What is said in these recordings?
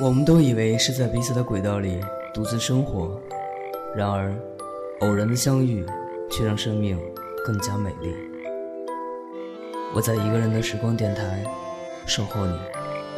我们都以为是在彼此的轨道里独自生活，然而偶然的相遇却让生命更加美丽。我在一个人的时光电台守候你。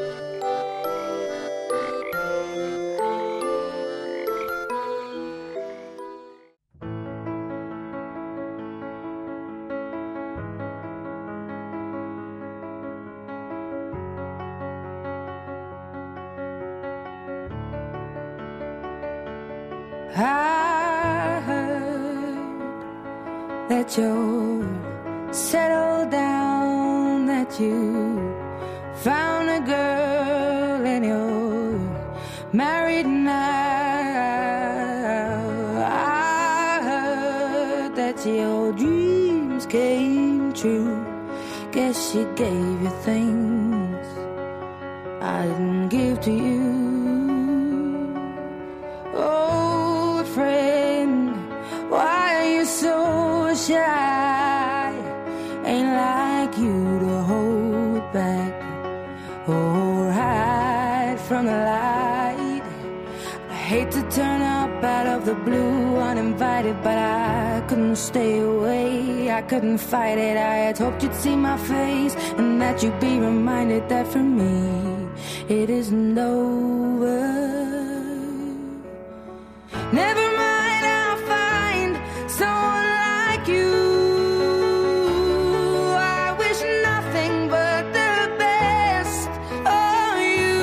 I heard that you're settled down, that you found a girl and you're married now. I heard that your dreams came true. Guess she gave you things I didn't give to you. So shy, ain't like you to hold back or hide from the light. I hate to turn up out of the blue uninvited, but I couldn't stay away, I couldn't fight it. I had hoped you'd see my face and that you'd be reminded that for me it isn't over. Never mind, I'll find someone like you. I wish nothing but the best for you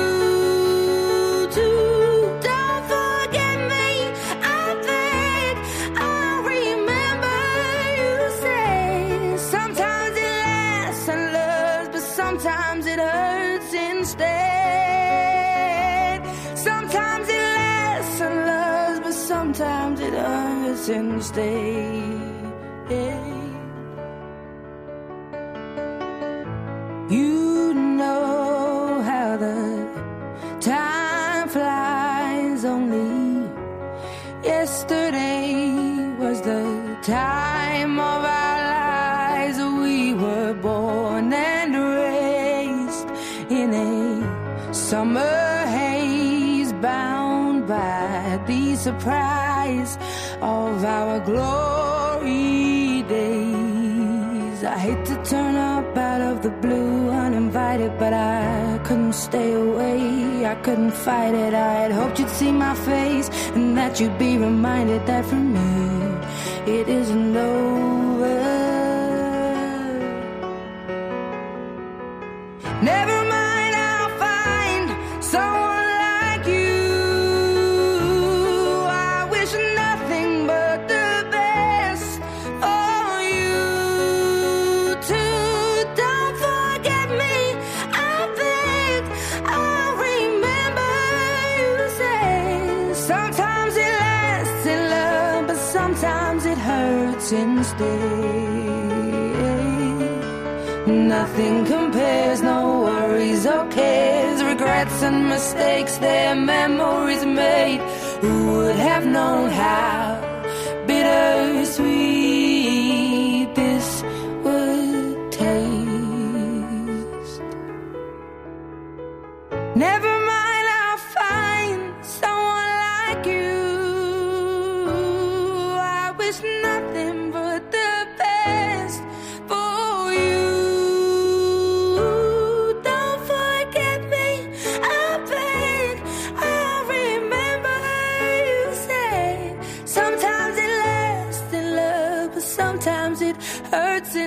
too. Don't forget me, I think I'll remember you say sometimes it lasts and loves, but sometimes it hurts instead. Sometimes it lasts and loves, but sometimes it hurts instead. You know how the time flies. Only yesterday was the time of our lives. We were born and raised in a summer haze, bound by the surprise of our glory days. I hate to turn up out of the blue uninvited, but I couldn't stay away, I couldn't fight it. I had hoped you'd see my face and that you'd be reminded that for me it isn't over. Never mind, I'll find someone like you. I wish nothing but the best for you too. Don't forget me, I think I'll remember you say sometimes it lasts in love, but sometimes it hurts instead. Nothing compares, no worries or cares, regrets and mistakes, their memories made. Who would have known how bittersweet this would taste? Never mind, I'll find someone like you. I wish nothing but the best for you. Don't forget me, I think I'll remember you say sometimes it lasts in love, but sometimes it hurts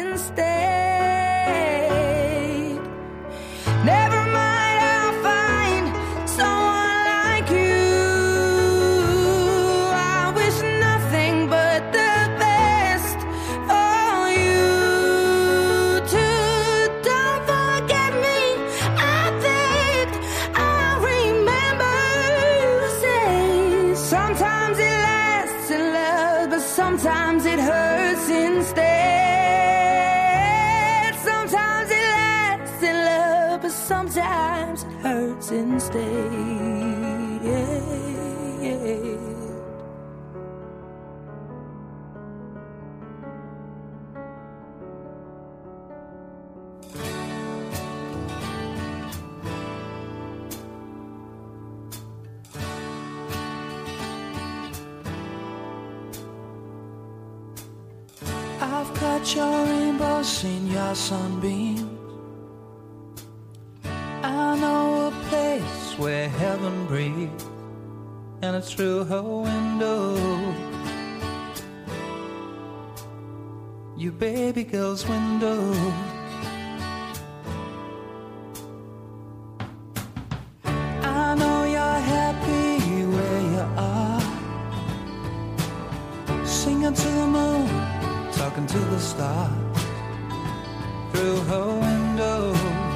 instead. Never mind, I'll find someone like you. I wish nothing but the best for you too. Don't forget me, I think I'll remember you say sometimes it lasts in love, but sometimes it hurts instead. Sometimes it lasts in love, but sometimes it hurts instead. I've caught your rainbow, seen your sunbeam. I know a place where heaven breathes, and it's through her window. Your baby girl's window. I know you're happy where you are, singing to the moon, talking to the stars, through her window.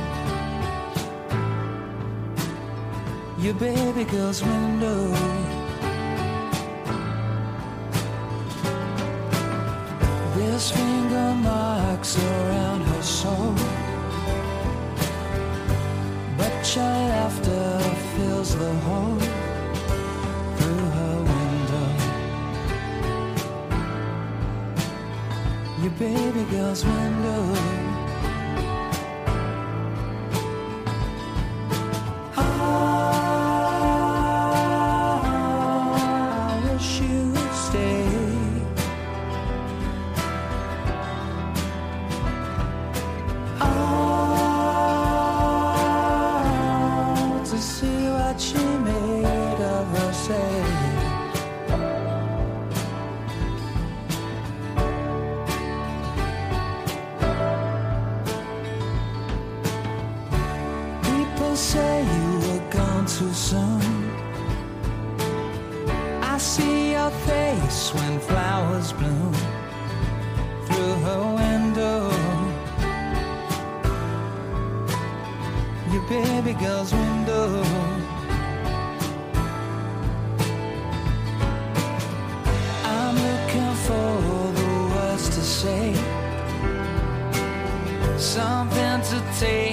Your baby girl's window. There's finger marks around her soul, but your laughter fills the hole through her window. Your baby girl's window. Say you were gone too soon. I see your face when flowers bloom through her window. Your baby girl's window. I'm looking for the words to say, something to take